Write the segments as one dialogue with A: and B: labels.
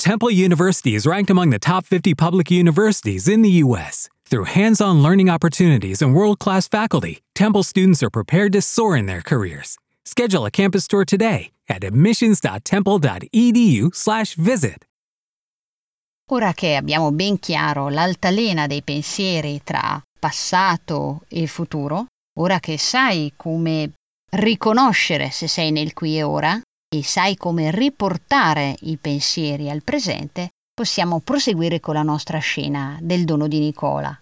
A: Temple University is ranked among the top 50 public universities in the U.S. Through hands-on learning opportunities and world-class faculty, Temple students are prepared to soar in their careers. Schedule a campus tour today at admissions.temple.edu/visit.
B: Ora che abbiamo ben chiaro l'altalena dei pensieri tra passato e futuro, ora che sai come riconoscere se sei nel qui e ora e sai come riportare i pensieri al presente, possiamo proseguire con la nostra scena del dono di Nicola.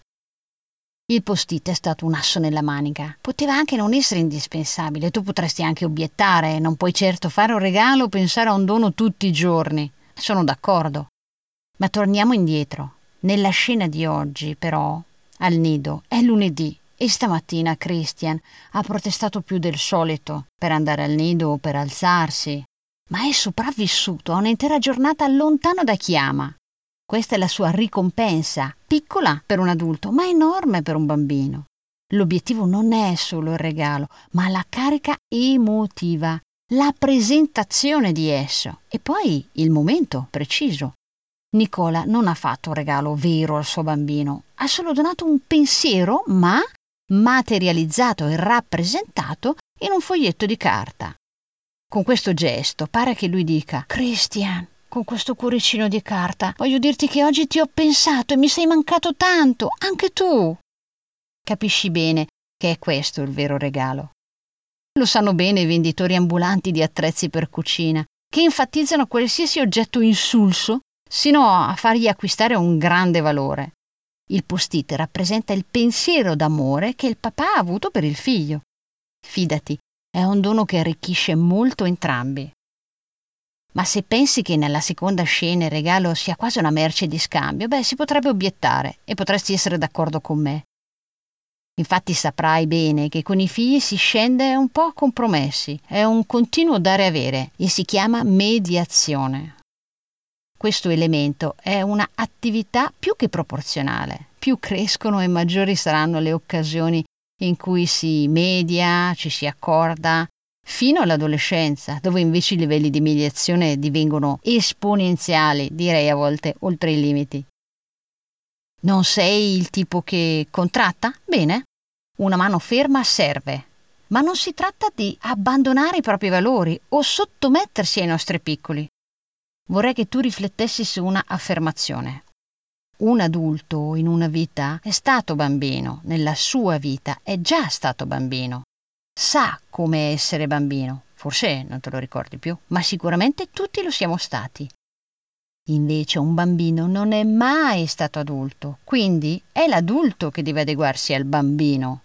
B: Il post-it è stato un asso nella manica. Poteva anche non essere indispensabile. Tu potresti anche obiettare: non puoi certo fare un regalo o pensare a un dono tutti i giorni. Sono d'accordo. Ma torniamo indietro. Nella scena di oggi, però, al nido, è lunedì e stamattina Christian ha protestato più del solito per andare al nido o per alzarsi, ma è sopravvissuto a un'intera giornata lontano da chi ama. Questa è la sua ricompensa, piccola per un adulto, ma enorme per un bambino. L'obiettivo non è solo il regalo, ma la carica emotiva, la presentazione di esso e poi il momento preciso. Nicola non ha fatto un regalo vero al suo bambino, ha solo donato un pensiero, ma materializzato e rappresentato in un foglietto di carta. Con questo gesto pare che lui dica: Christian, con questo cuoricino di carta voglio dirti che oggi ti ho pensato e mi sei mancato tanto, anche tu. Capisci bene che è questo il vero regalo. Lo sanno bene i venditori ambulanti di attrezzi per cucina, che enfatizzano qualsiasi oggetto insulso sino a fargli acquistare un grande valore. Il post-it rappresenta il pensiero d'amore che il papà ha avuto per il figlio. Fidati, è un dono che arricchisce molto entrambi. Ma se pensi che nella seconda scena il regalo sia quasi una merce di scambio, si potrebbe obiettare e potresti essere d'accordo con me. Infatti saprai bene che con i figli si scende un po' a compromessi, è un continuo dare e avere e si chiama mediazione. Questo elemento è una attività più che proporzionale. Più crescono e maggiori saranno le occasioni in cui si media, ci si accorda, fino all'adolescenza, dove invece i livelli di mediazione divengono esponenziali, direi a volte oltre i limiti. Non sei il tipo che contratta? Bene, una mano ferma serve, ma non si tratta di abbandonare i propri valori o sottomettersi ai nostri piccoli. Vorrei che tu riflettessi su una affermazione. Un adulto in una vita è stato bambino, nella sua vita è già stato bambino. Sa come essere bambino, forse non te lo ricordi più, ma sicuramente tutti lo siamo stati. Invece un bambino non è mai stato adulto, quindi è l'adulto che deve adeguarsi al bambino.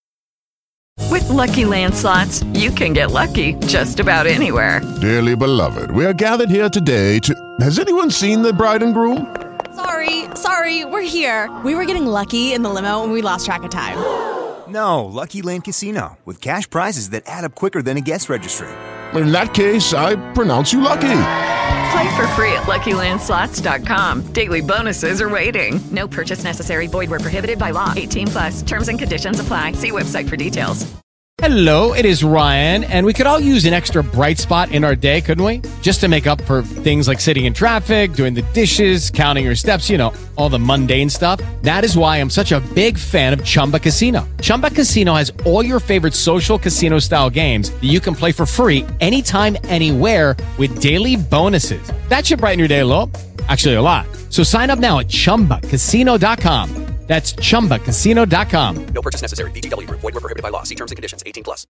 C: With Lucky Land Slots, you can get lucky just about anywhere.
D: Dearly beloved, we are gathered here today to... Has anyone seen the bride and groom?
E: Sorry, we're here. We were getting lucky in the limo and we lost track of time.
F: No, Lucky Land Casino, with cash prizes that add up quicker than a guest registry.
D: In that case, I pronounce you lucky.
C: Play for free at LuckyLandSlots.com. Daily bonuses are waiting. No purchase necessary. Void where prohibited by law. 18+. Terms and conditions apply. See website for details.
G: Hello, it is Ryan, and we could all use an extra bright spot in our day, couldn't we? Just to make up for things like sitting in traffic, doing the dishes, counting your steps, all the mundane stuff. That is why I'm such a big fan of Chumba Casino. Chumba Casino has all your favorite social casino-style games that you can play for free anytime, anywhere with daily bonuses. That should brighten your day a little. Actually, a lot. So sign up now at ChumbaCasino.com. That's ChumbaCasino.com.
H: No purchase necessary. VGW Group. Void where prohibited by law. See terms and conditions. 18+.